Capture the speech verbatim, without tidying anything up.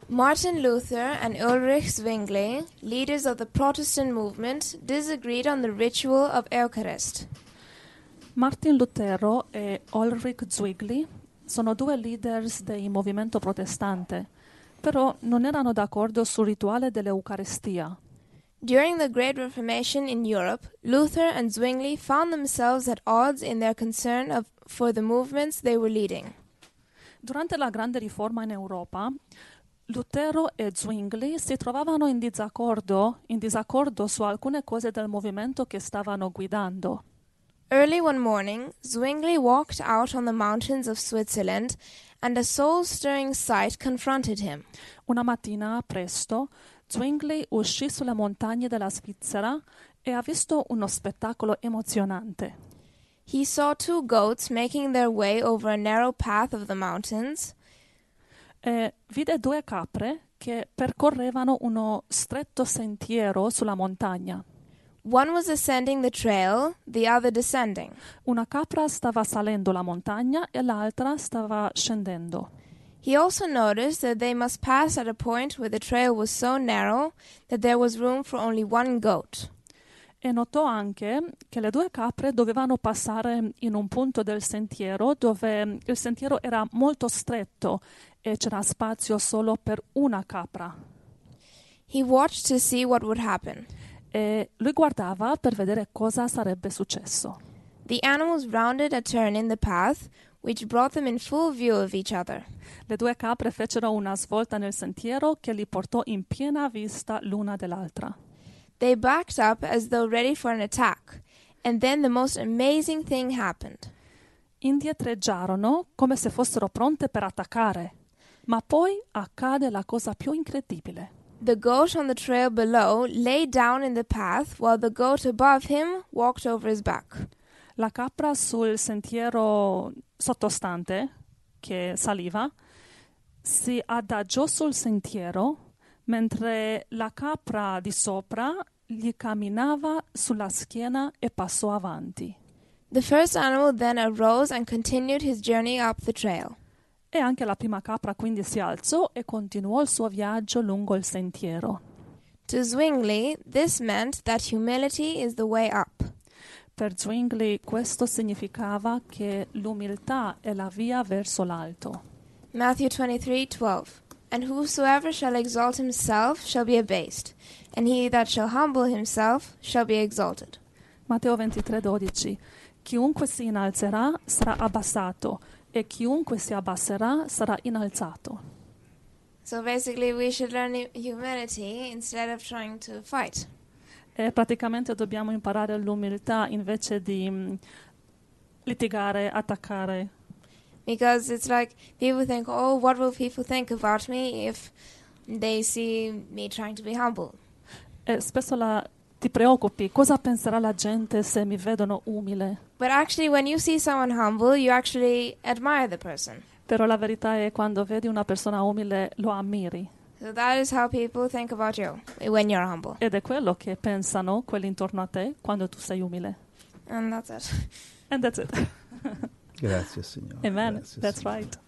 Martin Luther and Ulrich Zwingli, leaders of the Protestant movement, disagreed on the ritual of Eucharist. Martin Lutero e Ulrich Zwingli sono due leaders del movimento protestante, però non erano d'accordo sul rituale dell'Eucaristia. During the Great Reformation in Europe, Luther and Zwingli found themselves at odds in their concern of, for the movements they were leading. Durante la Grande Riforma in Europa, Lutero e Zwingli si trovavano in disaccordo, in disaccordo su alcune cose del movimento che stavano guidando. Early one morning, Zwingli walked out on the mountains of Switzerland, and a soul-stirring sight confronted him. Una mattina presto, Zwingli uscì sulle montagne della Svizzera e ha visto uno spettacolo emozionante. He saw two goats making their way over a narrow path of the mountains. E vide due capre che percorrevano uno stretto sentiero sulla montagna. One was ascending the trail, the other descending. Una capra stava salendo la montagna e l'altra stava scendendo. He also noticed that they must pass at a point where the trail was so narrow that there was room for only one goat. E notò anche che le due capre dovevano passare in un punto del sentiero dove il sentiero era molto stretto e c'era spazio solo per una capra. He watched to see what would happen. E lui guardava per vedere cosa sarebbe successo. The animals rounded a turn in the path, which brought them in full view of each other. Le due capre fecero una svolta nel sentiero che li portò in piena vista l'una dell'altra. They backed up as though ready for an attack, and then the most amazing thing happened. Indietreggiarono come se fossero pronte per attaccare, ma poi accade la cosa più incredibile. The goat on the trail below lay down in the path while the goat above him walked over his back. La capra sul sentiero sottostante, che saliva, si adagiò sul sentiero mentre la capra di sopra gli camminava sulla schiena e passò avanti. The first animal then arose and continued his journey up the trail. E anche la prima capra quindi si alzò e continuò il suo viaggio lungo il sentiero. To Zwingli, this meant that humility is the way up. Per Zwingli questo significava che l'umiltà è la via verso l'alto. Matthew twenty-three twelve. And whosoever shall exalt himself shall be abased, and he that shall humble himself shall be exalted. Matteo ventitré dodici. Chiunque si innalzerà sarà abbassato, e chiunque si abbasserà sarà innalzato. So basically we should learn humility instead of trying to fight. E praticamente dobbiamo imparare l'umiltà invece di um, litigare, attaccare. Because it's like people think, oh, what will people think about me if they see me trying to be humble? E spesso la, ti preoccupi, cosa penserà la gente se mi vedono umile? But actually when you see someone humble, you actually admire the person. Però la verità è quando vedi una persona umile lo ammiri. So that is how people think about you when you're humble. Ed è quello che pensano quelli intorno a te quando tu sei umile. And that's it. And that's it. Grazie, Signore. Amen. Grazie, That's Signore. right.